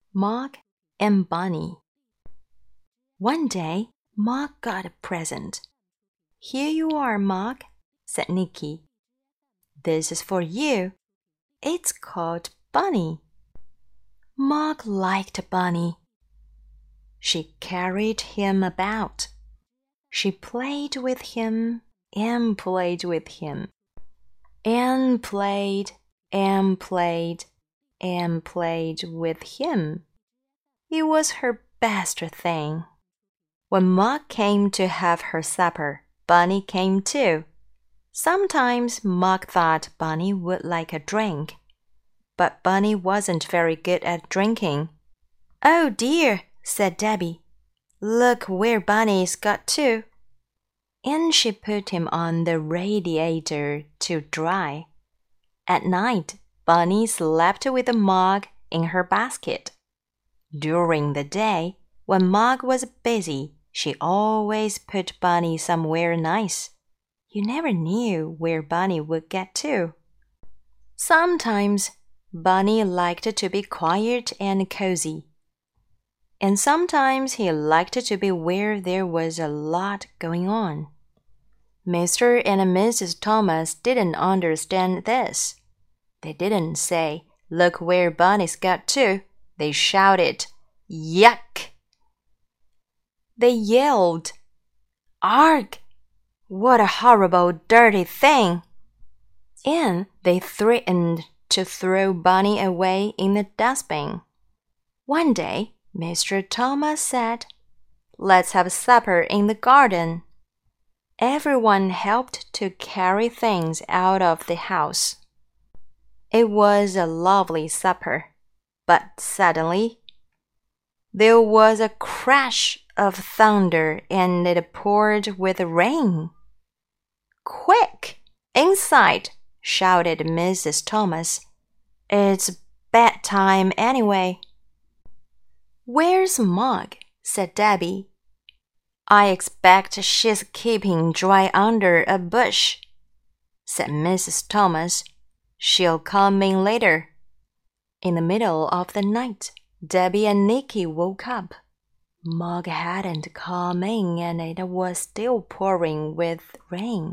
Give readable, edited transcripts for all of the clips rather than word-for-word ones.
Mog and Bunny. One day, Mog got a present. "Here you are, Mog," said Nicky. "This is for you. It's called Bunny." Mog liked Bunny. She carried him about. She played with him and played with him, and played and played and played with him. It was her best thing. When Mog came to have her supper, Bunny came too. Sometimes Mog thought Bunny would like a drink, but Bunny wasn't very good at drinking. "Oh dear," said Debbie. "Look where Bunny's got to." And she put him on the radiator to dry. At night, Bunny slept with Mog in her basket. During the day, when Mog was busy, she always put Bunny somewhere nice. You never knew where Bunny would get to. Sometimes Bunny liked to be quiet and cozy, and sometimes he liked to be where there was a lot going on. Mr. and Mrs. Thomas didn't understand this. They didn't say, "Look where Bunny's got to." They shouted, "Yuck!" They yelled, "Arg! What a horrible, dirty thing!" And they threatened to throw Bunny away in the dustbin. One day, Mr. Thomas said, "Let's have supper in the garden." Everyone helped to carry things out of the house. It was a lovely supper, but suddenly there was a crash of thunder and it poured with rain. "Quick! Inside!" shouted Mrs. Thomas. "It's bedtime anyway." "Where's Mog?" said Debbie. "I expect she's keeping dry under a bush," said Mrs. Thomas. "She'll come in later." In the middle of the night, Debbie and Nicky woke up. Mog hadn't come in and it was still pouring with rain.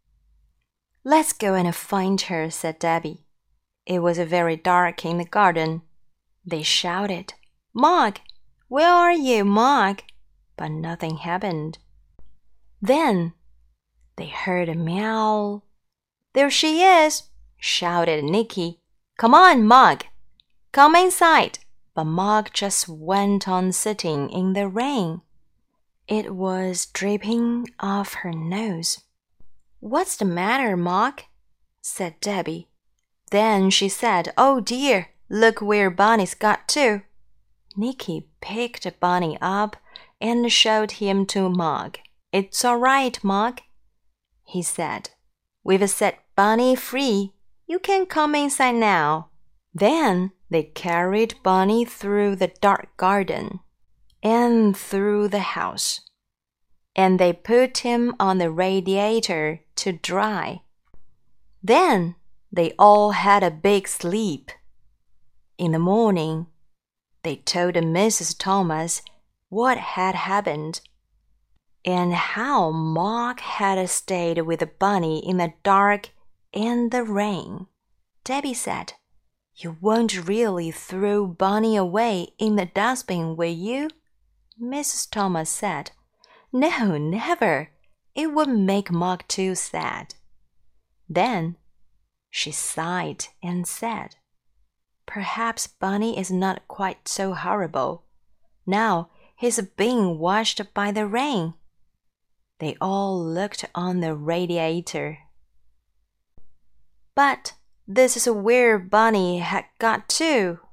"Let's go and find her," said Debbie. It was very dark in the garden. They shouted, "Mog! Where are you, Mog?" But nothing happened. Then they heard a meow. "There she is!" shouted Nicky. "Come on, Mog! Come inside!" But Mog just went on sitting in the rain. It was dripping off her nose. "What's the matter, Mog?" said Debbie. Then she said, "Oh dear, look where Bunny's got to." Nicky picked Bunny up and showed him to Mog. "It's all right, Mog," he said. "We've set Bunny free. You can come inside now." Then they carried Bunny through the dark garden and through the house, and they put him on the radiator to dry. Then they all had a big sleep. In the morning, they told Mrs. Thomas what had happened and how Mog had stayed with Bunny in the dark and the rain. Debbie said, "You won't really throw Bunny away in the dustbin, will you?" Mrs. Thomas said, "No, never. It would make Mog too sad." Then she sighed and said, "Perhaps Bunny is not quite so horrible. Now he's being washed by the rain." They all looked on the radiator. "But this is where Bunny had got to,"